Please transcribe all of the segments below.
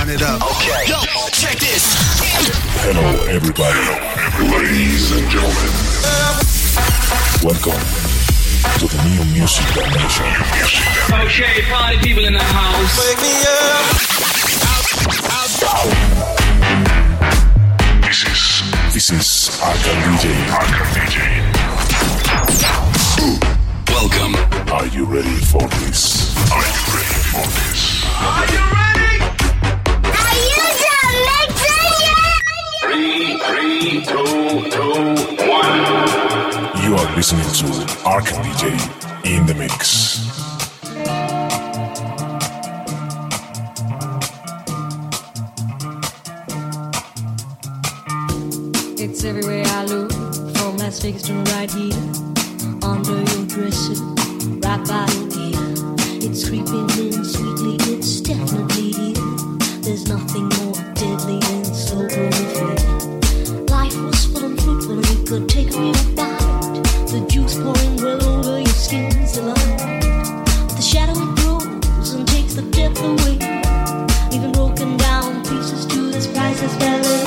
turn it up. Okay. Yo, check this. Hello, everybody. Ladies and gentlemen. Welcome to the New Music Dimension. Okay, party people in the house. Wake me up. This is Arkham DJ. Welcome. Are you ready for this? Are you ready for this? Are you ready? Are you done mixing yet? 3, 2, 1. You are listening to Arkham DJ in the mix. It's everywhere I look, from Las Vegas to right here, under your dresser, right by your ear. It's creeping in sweetly, it's definitely here. There's nothing more deadly than slow growing fear. Life was full and fruitful and it could take me a bite. The juice pouring well over your skin's delight. The shadow it grows and takes the depth away, even broken down pieces to this priceless ballet.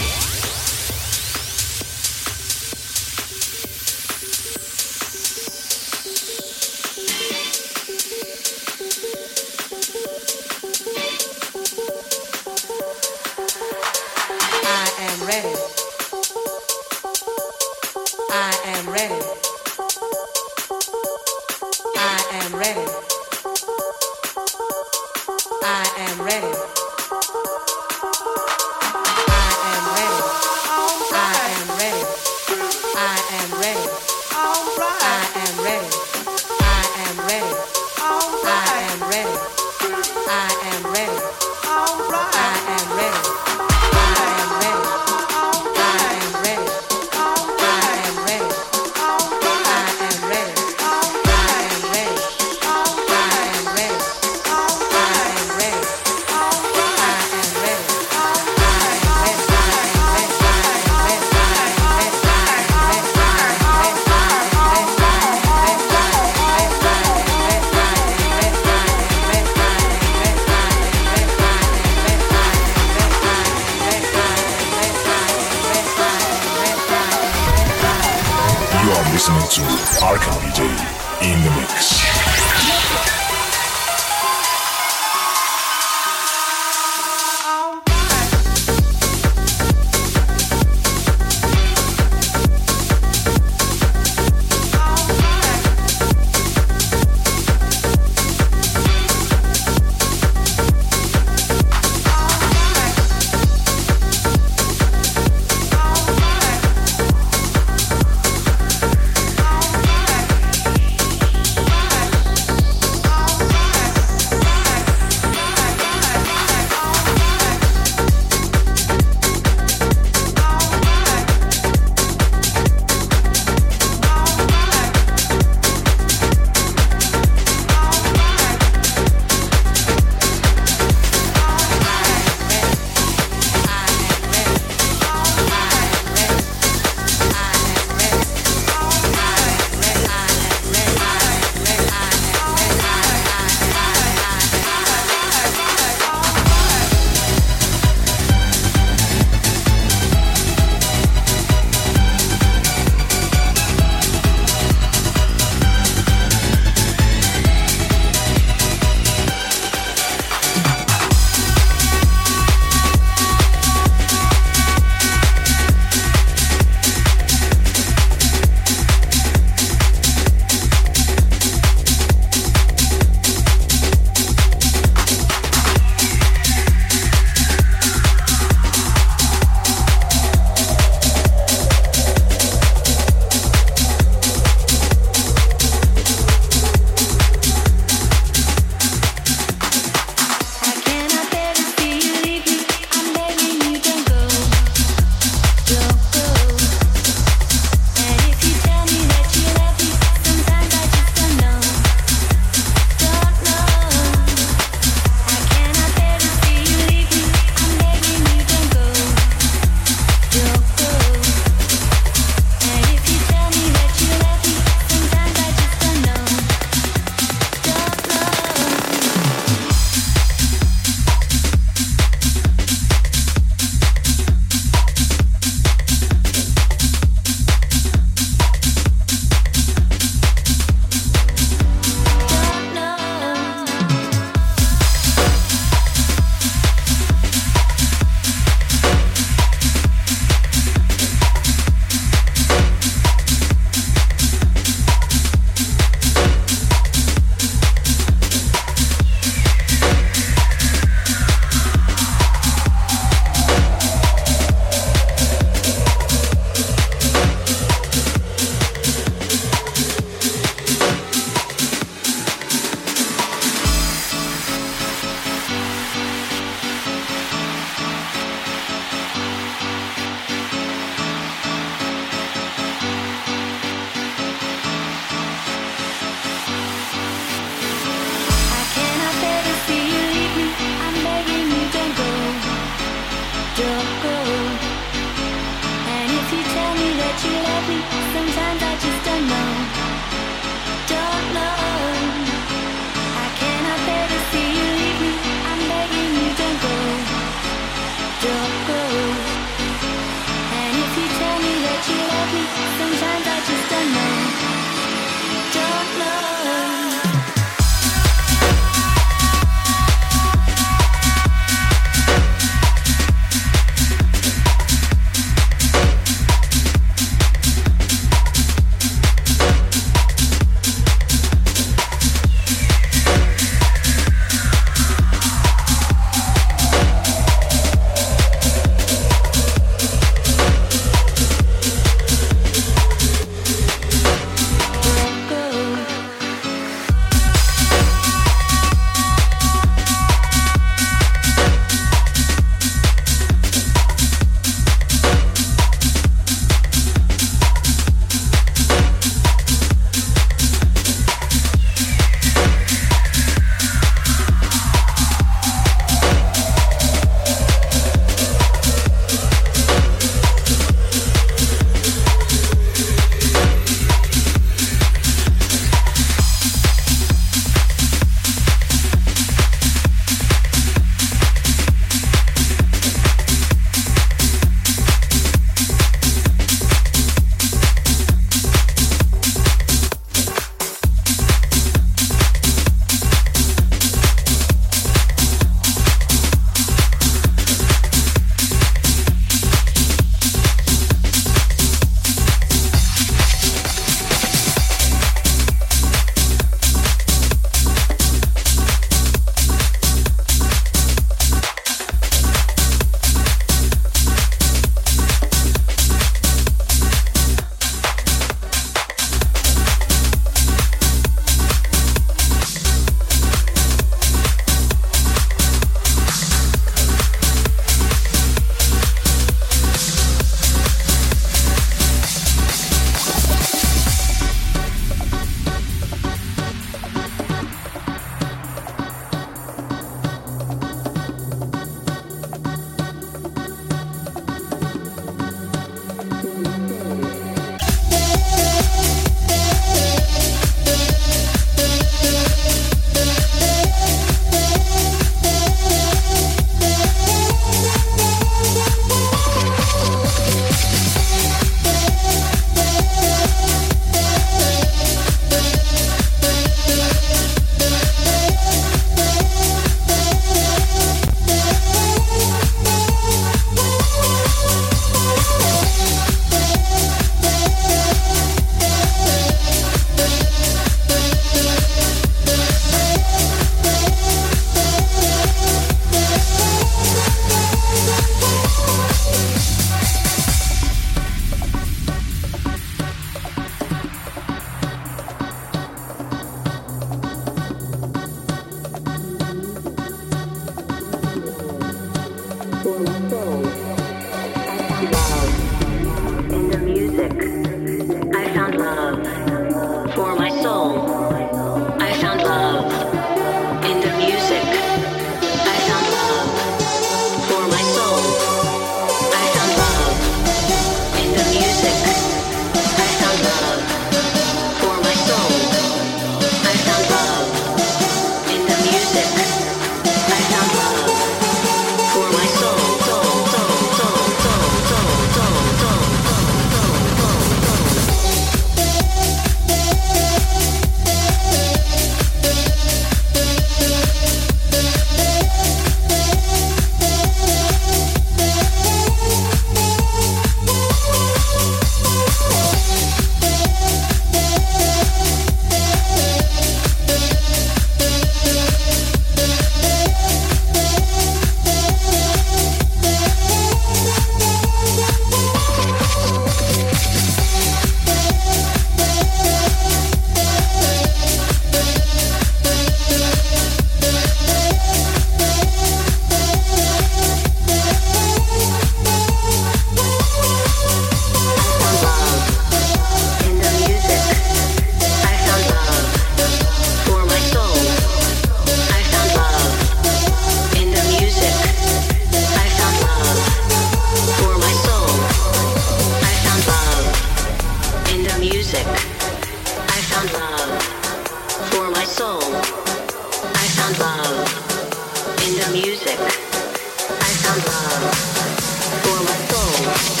music, I found love for my soul. I found love in the music. I found love for my soul.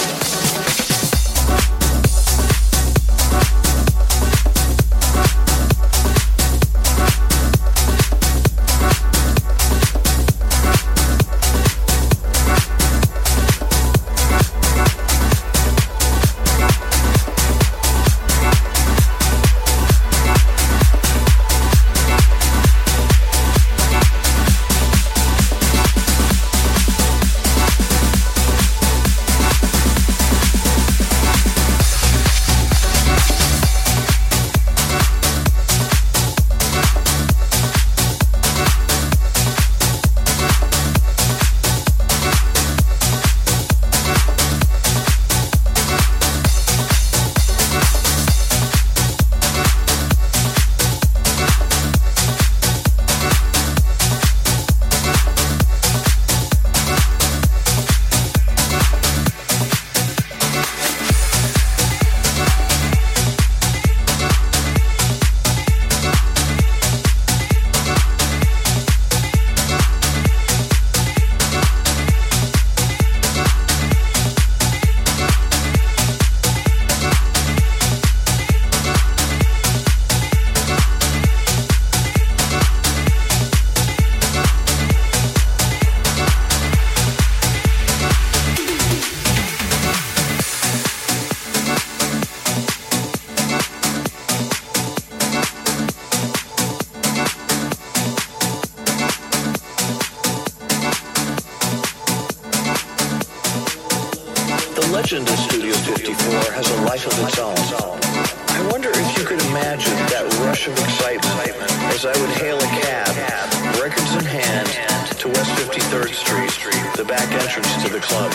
legend of Studio 54 has a life of its own. I wonder if you could imagine that rush of excitement as I would hail a cab, records in hand, to West 53rd Street, the back entrance to the club.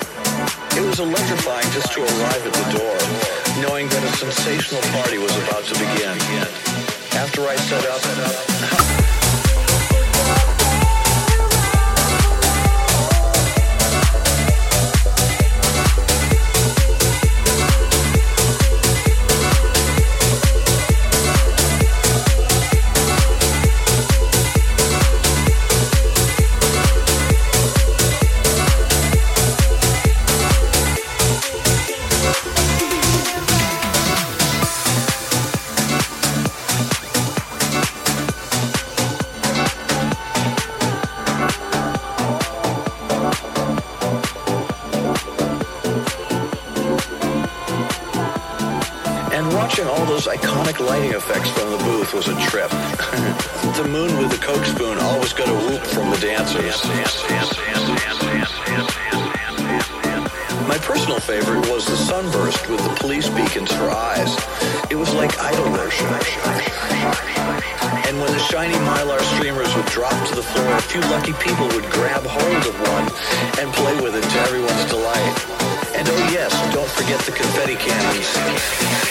It was electrifying just to arrive at the door, knowing that a sensational party was about to begin. After I set up, watching all those iconic lighting effects from the booth was a trip. The moon with the Coke spoon always got a whoop from the dancers. My personal favorite was the sunburst with the police beacons for eyes. It was like idol worship. And when the shiny Mylar streamers would drop to the floor, a few lucky people would grab hold of one and play with it to everyone's delight. And oh yes, don't forget the confetti cannons.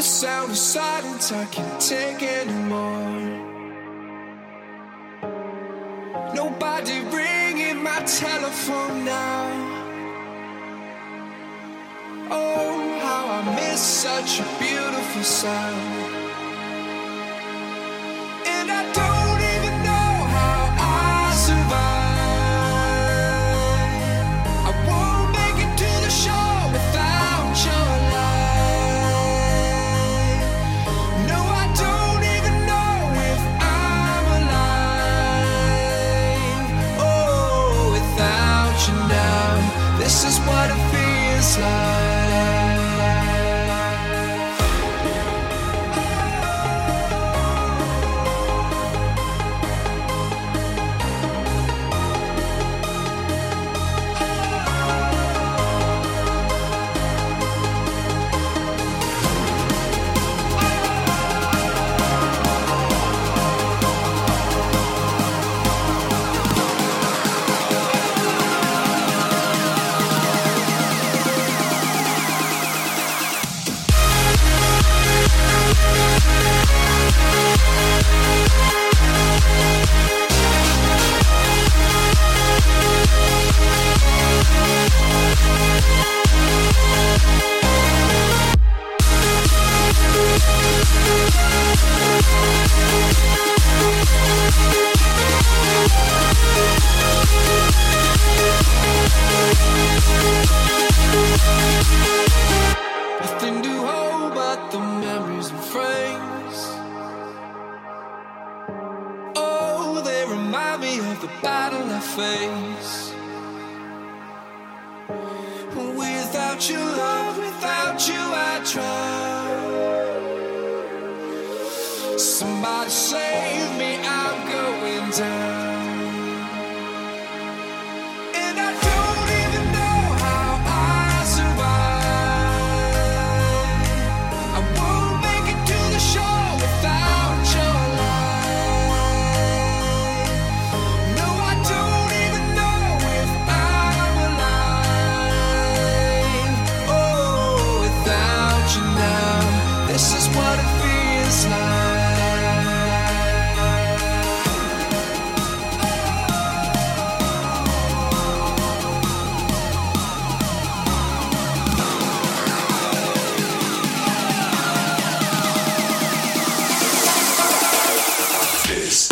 sound of silence I can't take anymore. Nobody ringing my telephone now. Oh, how I miss such a beautiful sound. And I don't even know how I survive. I won't make it to the shore without your light. No, I don't even know if I'm alive. Oh, without you now, this is what it feels like. Nothing to hold but the memories and frames. Oh, they remind me of the battle I face. Without your love, without you I drown. Somebody save me, I'm going down. And I don't even know how I survive. I won't make it to the shore without your light. No, I don't even know if I'm alive. Oh, without you now, this is what it feels like. This.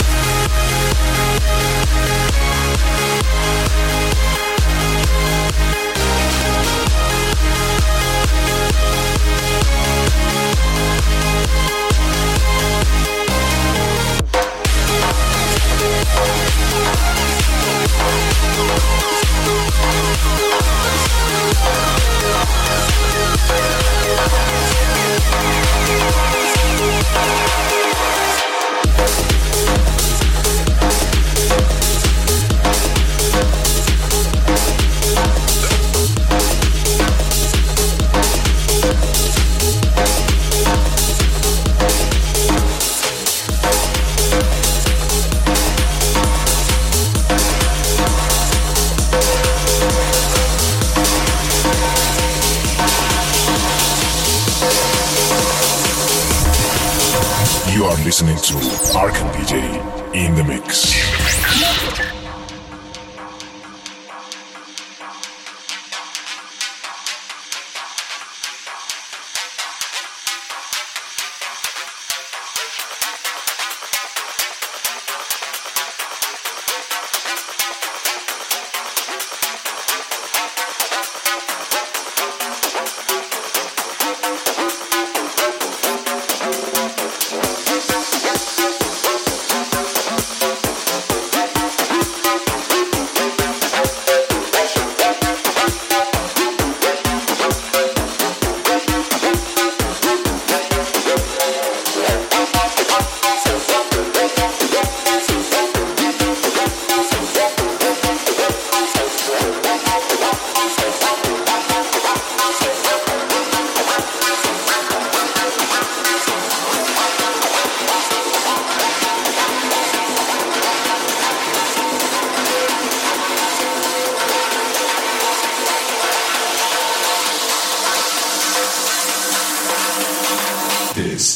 You are listening to Arkan DJ in the mix. this.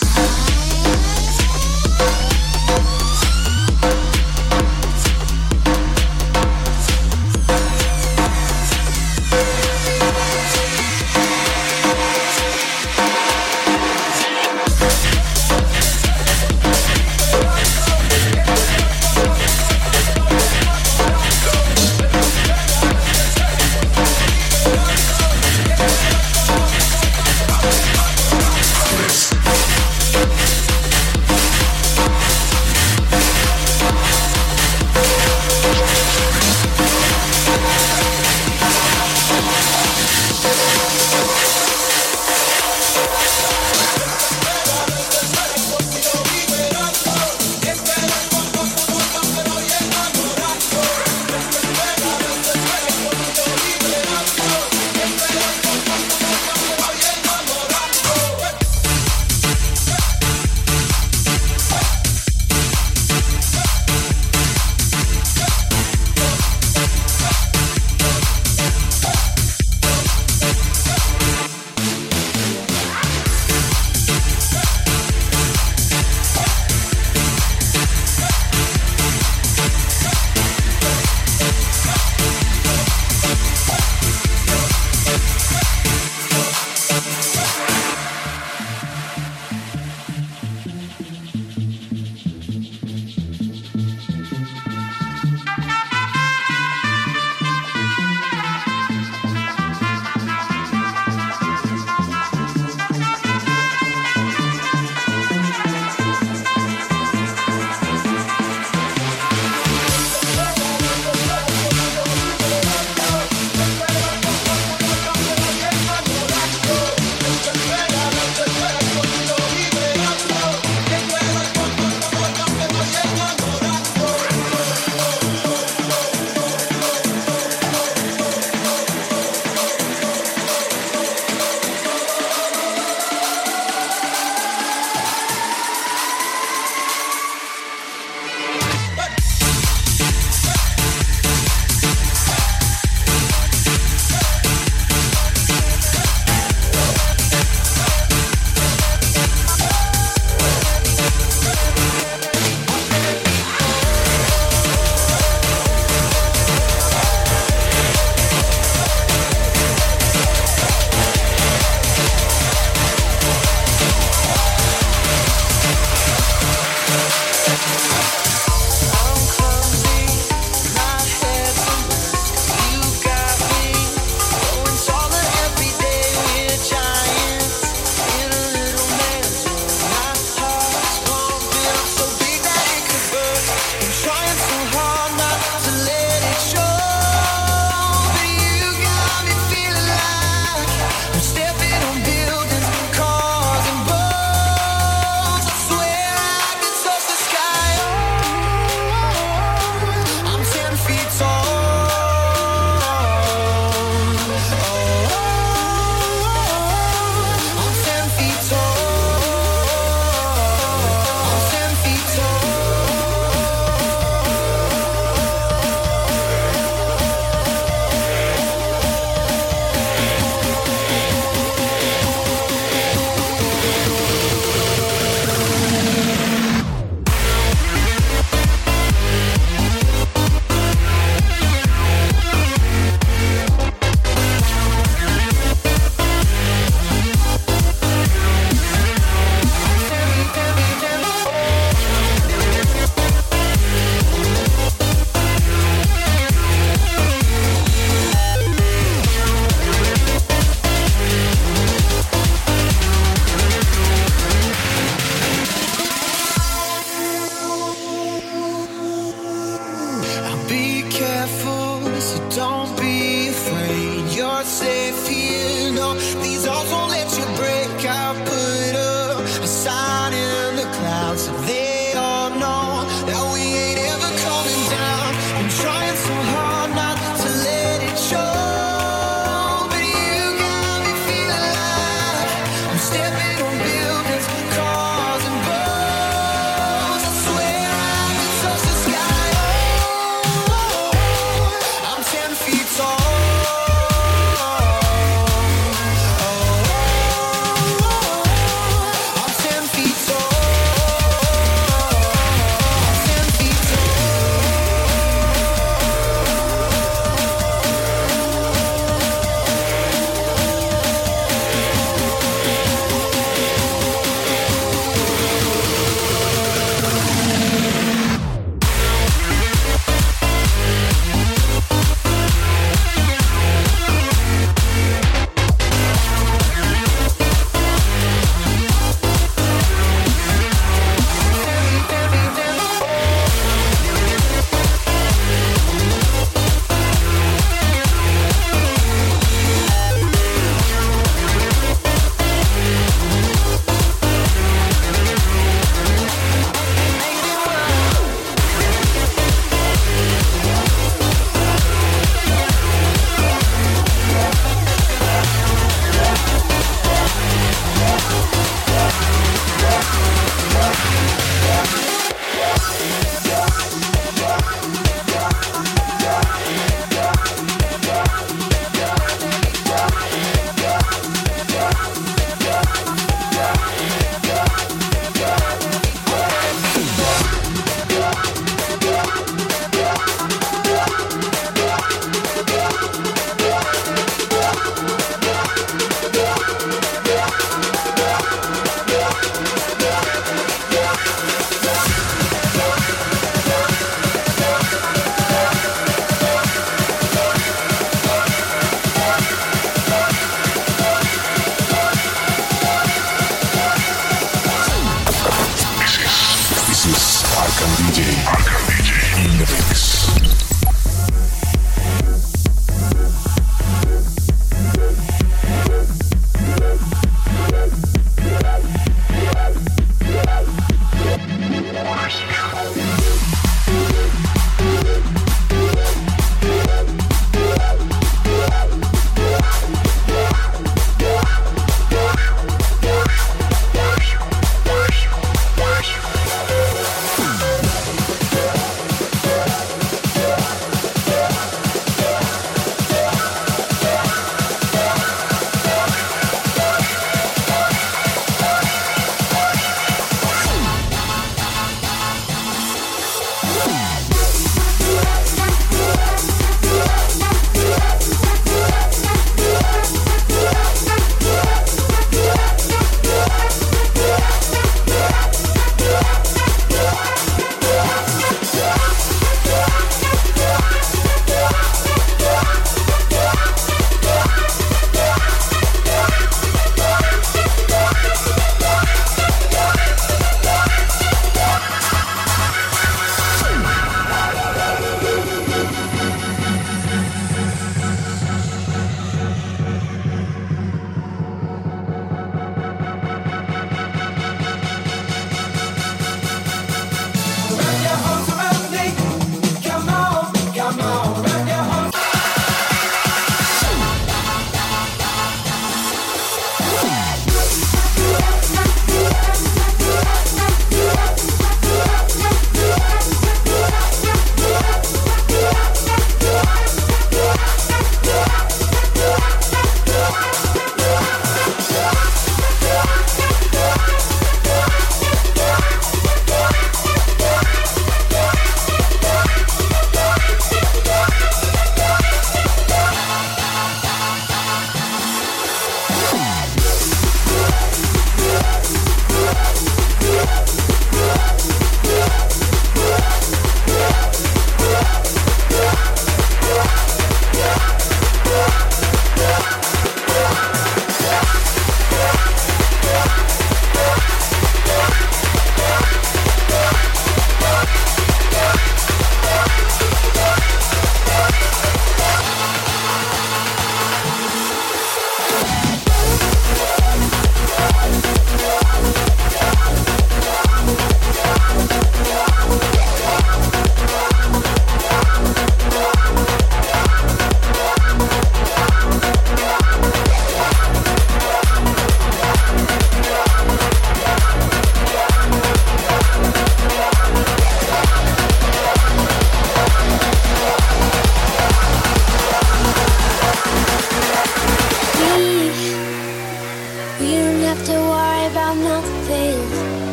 DJ in the mix.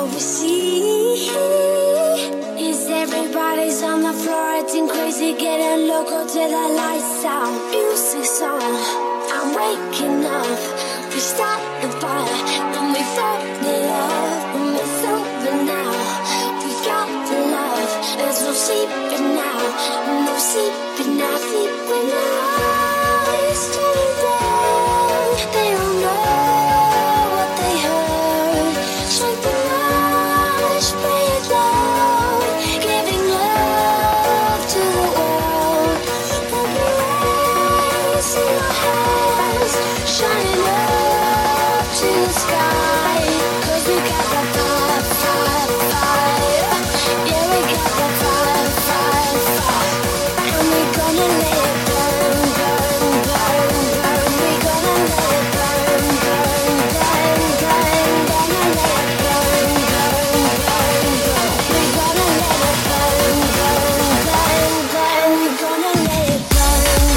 what we see is everybody's on the floor acting crazy, getting loco till the lights out. Music's on, I'm waking up. We start the fire and we burn it up, and it's over now. We got the love, there's no sleeping now, no sleeping now, sleeping now. It's turning down, they don't know what they heard. Strike the light, spray it down, giving love to the world. We'll be raising our hands, shining up to the sky. 'Cause we got that fire, fire, fire. Yeah, we got that fire, fire, fire. And we're gonna let it burn, burn, burn, burn. We're gonna let it burn, burn, burn, burn. Gonna let it burn, burn, burn, burn. We're gonna let it burn, burn, burn, burn. We're gonna let it burn.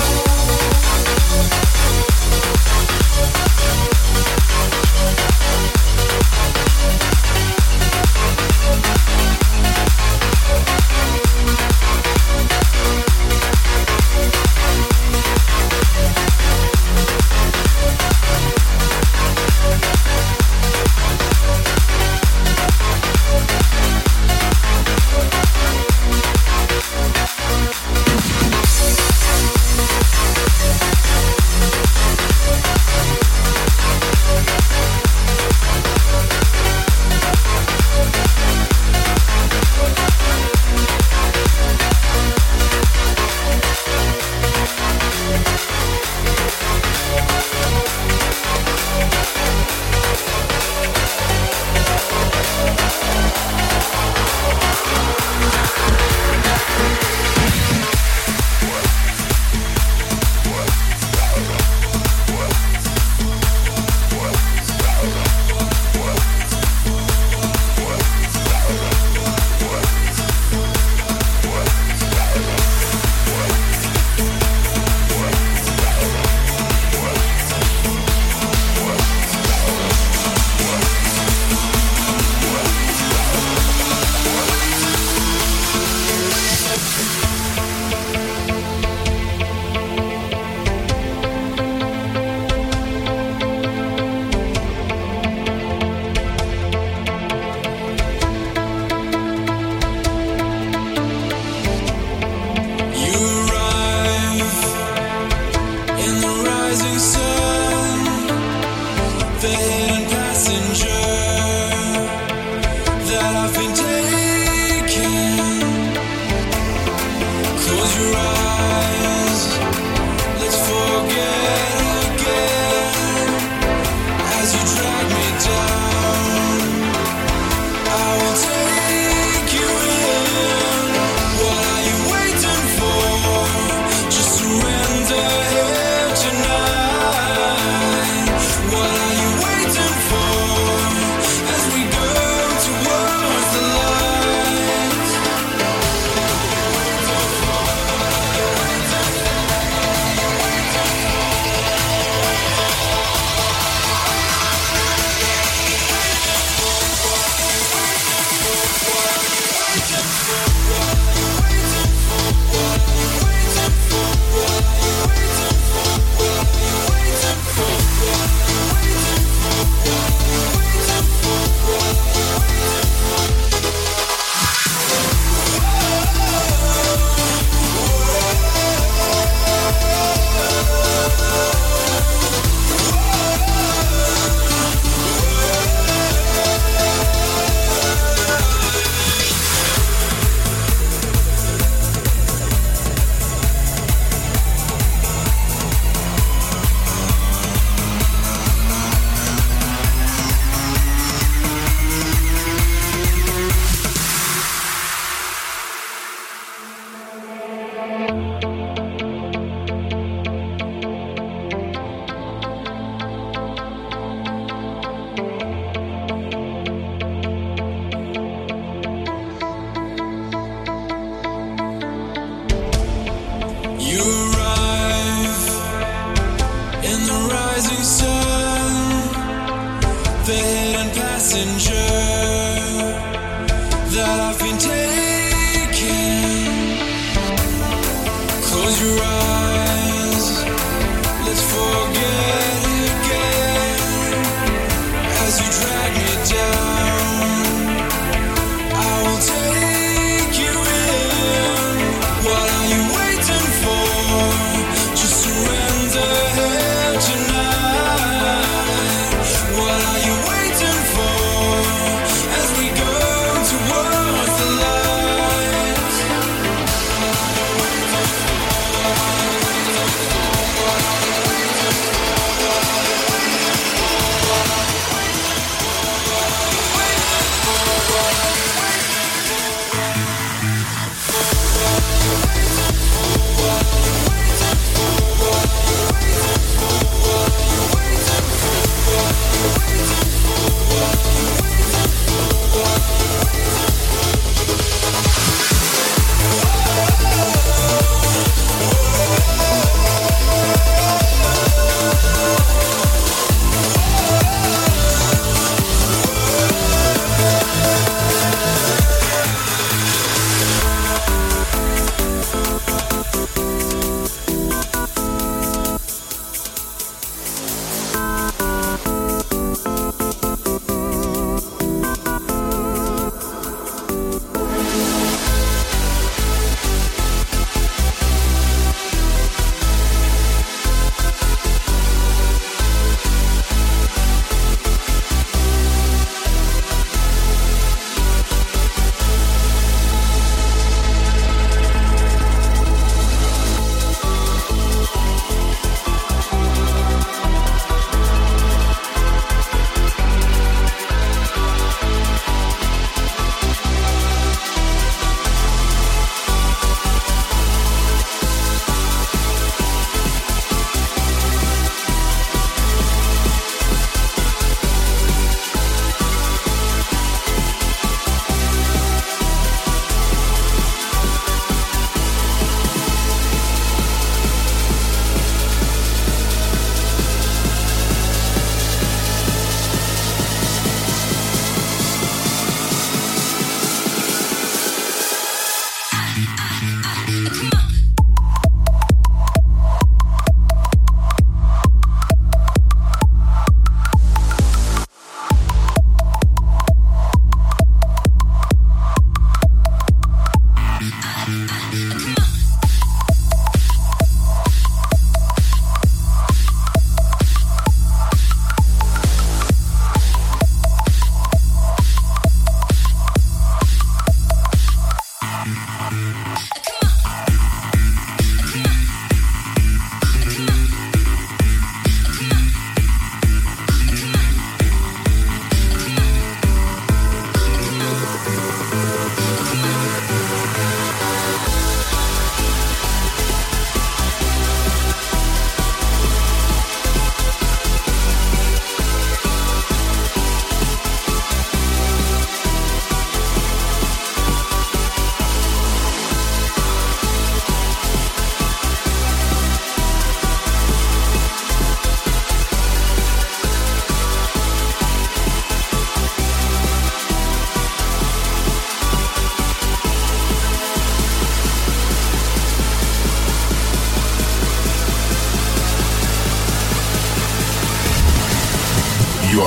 What are you waiting for as we go towards the light?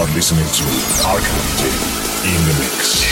are listening to Arcade in the mix.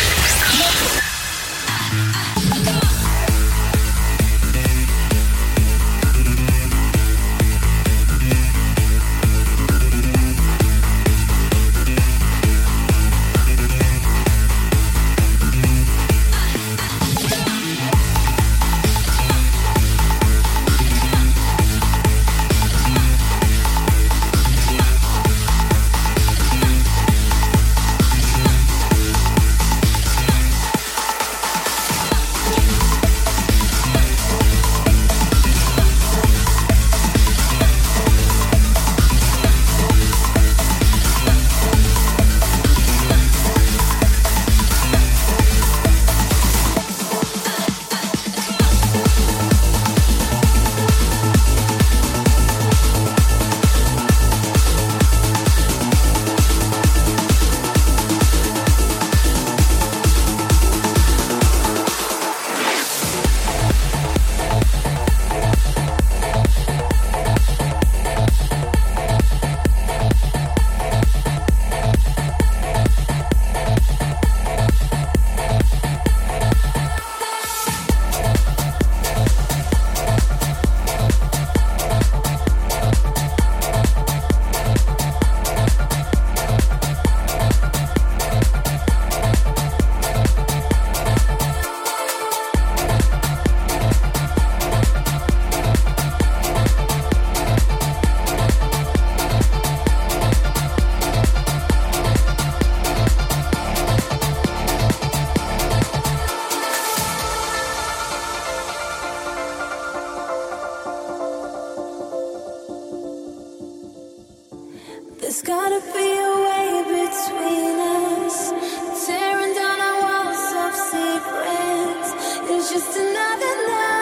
There's gotta be a way between us, tearing down our walls of secrets. It's just another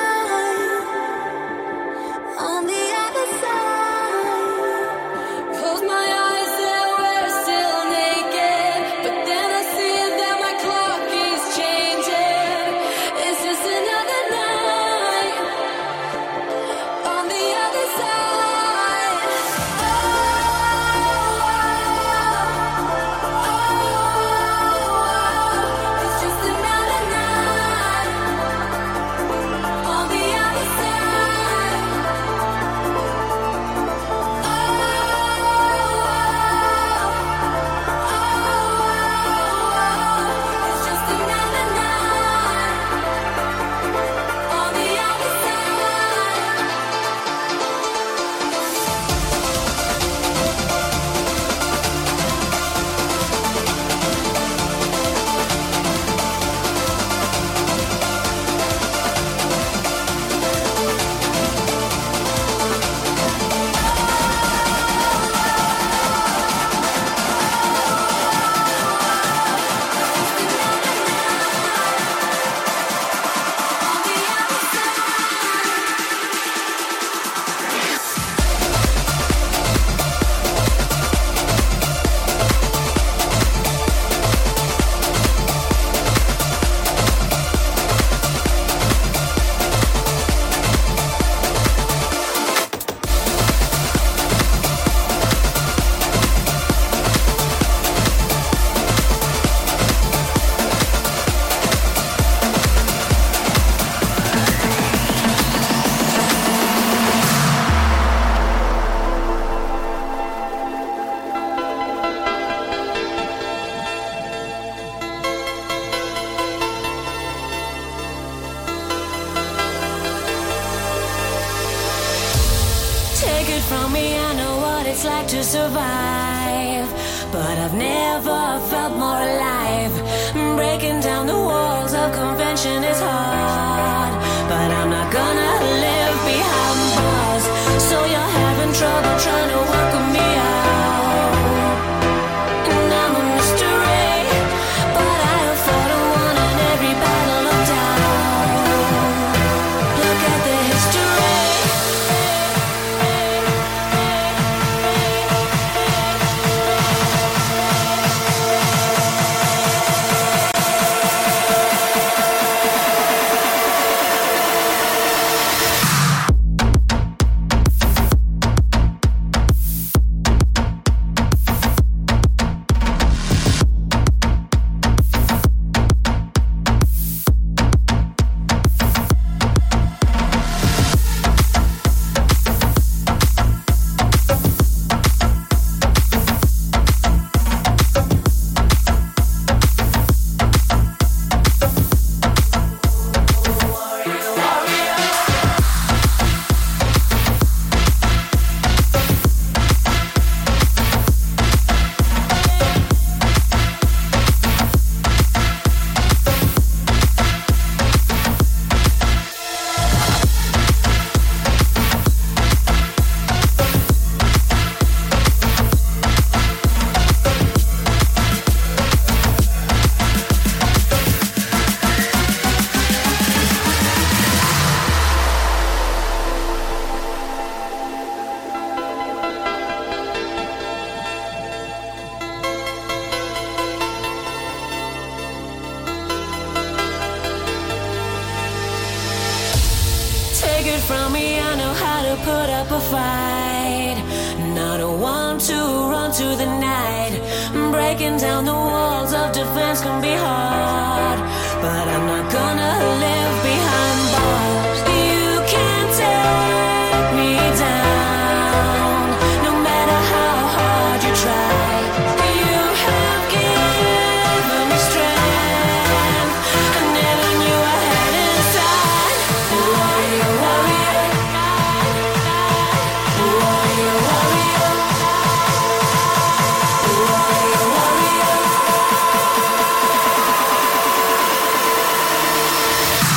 night on the other side. Close my eyes and we're still naked, but then I see that my clock is changing. It's just another night on the other side. Take it from me, I know what it's like to survive, but I've never felt more alive. Breaking down the walls of convention is hard, but I'm not gonna live behind bars. So you're having trouble trying to work with me out, and I'm a mystery, but I have fought and won in every battle of doubt. Look at the history. it from me, I know how to put up a fight. Not a one to run to the night. Breaking down the walls of defense can be hard, but I'm not gonna live behind bars. You can't take me down, no matter how hard you try. You have given me strength I never knew I had inside. Warrior, warrior, warrior, warrior, warrior, warrior.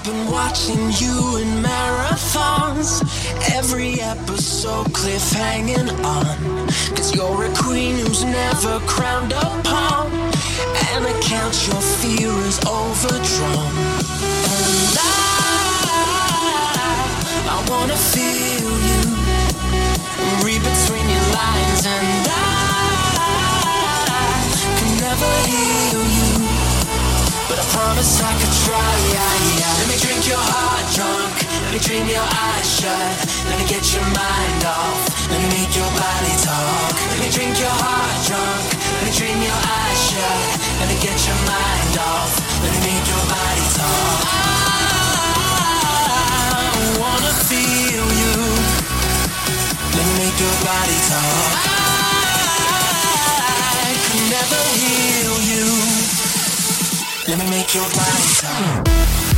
been watching you in marathons. Every episode cliffhanging on. Cause you're a queen who's never crowned upon. And I count your fear is overdrawn. And I wanna feel you. Read between your lines. And I can never heal you, but I promise I could try. Let me drink your heart drunk. Let me dream your eyes shut. Let me get your mind off. Let me make your body talk. Let me drink your heart drunk. Let me dream your eyes shut. Let me get your mind off. Let me make your body talk. I wanna feel you. Let me make your body talk. I could never heal you. Let me make your body talk.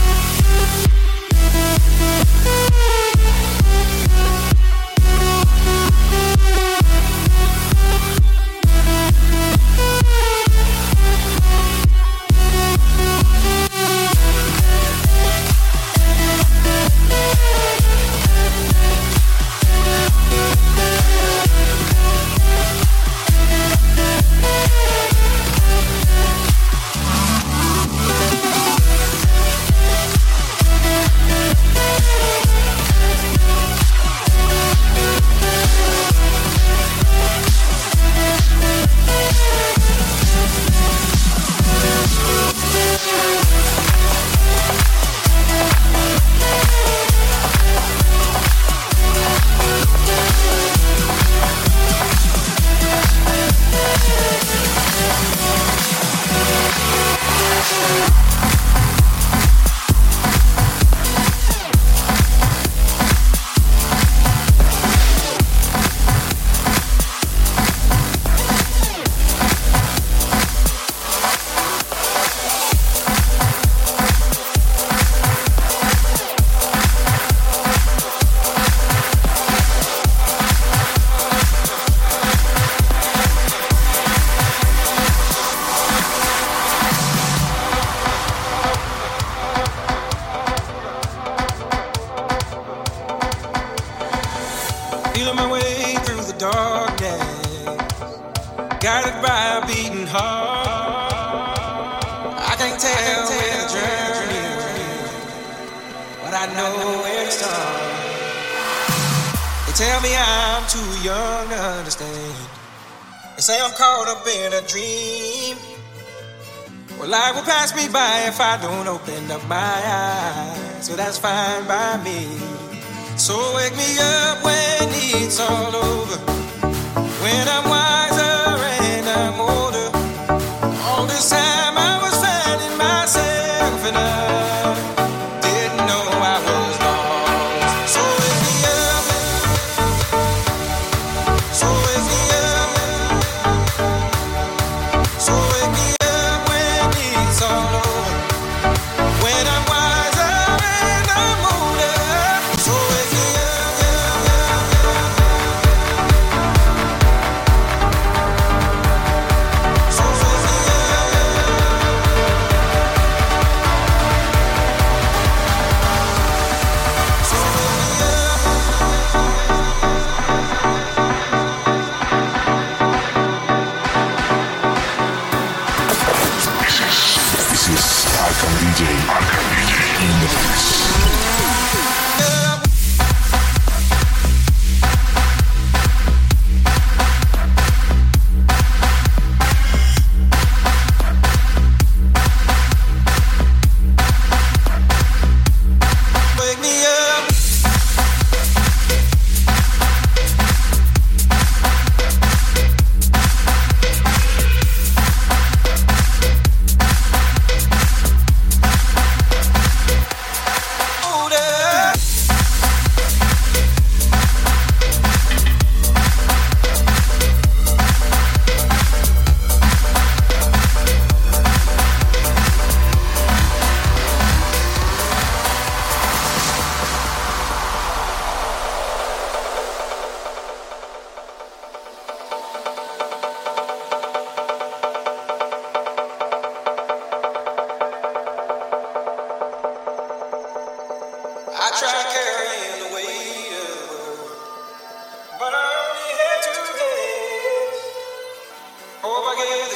Feeling my way through the darkness, guided by a beating heart. I can't tell where the journey is, but I know where to start. They tell me I'm too young to understand. They say I'm caught up in a dream. Well, life will pass me by if I don't open up my eyes, so that's fine by me. So wake me up when it's all over, when I'm wiser and I'm older. All this time I was finding myself and I didn't know I was lost. So wake me up, so wake me up, so wake me up when it's all over, when I'm wiser and I'm older. So wake me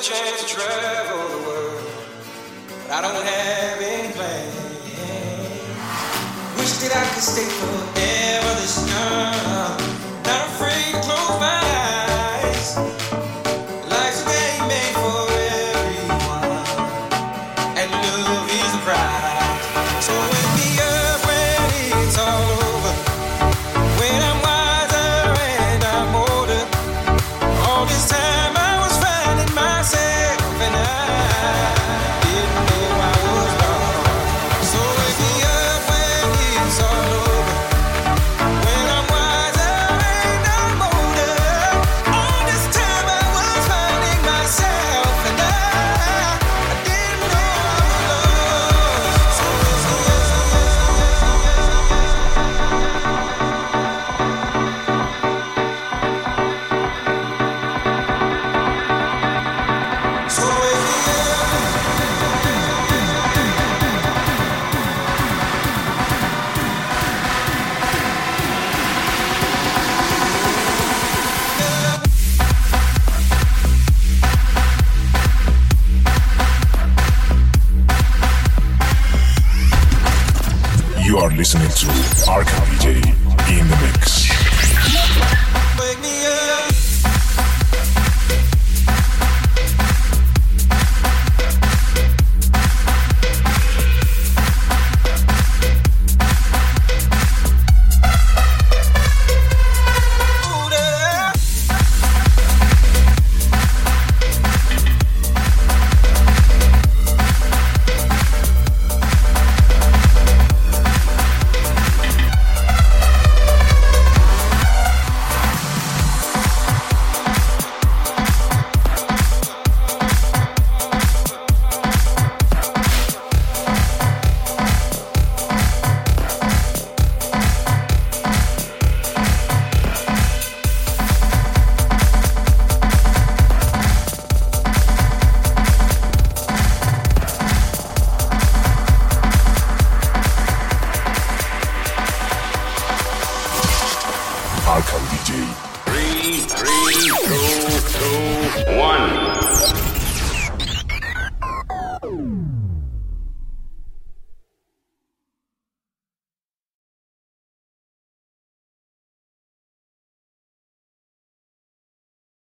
chance to travel the world, but I don't have any plans. Wish that I could stay forever this young, not afraid to close my eyes. Life's a game made for everyone, and love is the prize. So wake me up when it's all over, when I'm wiser and I'm older. All this time I was finding myself and I didn't know I was lost. So wake me up when it's all over, when I'm wiser and I'm older. All this time I was finding myself and I didn't know I was lost. So wake me up. So wake me up. You are listening to Arkham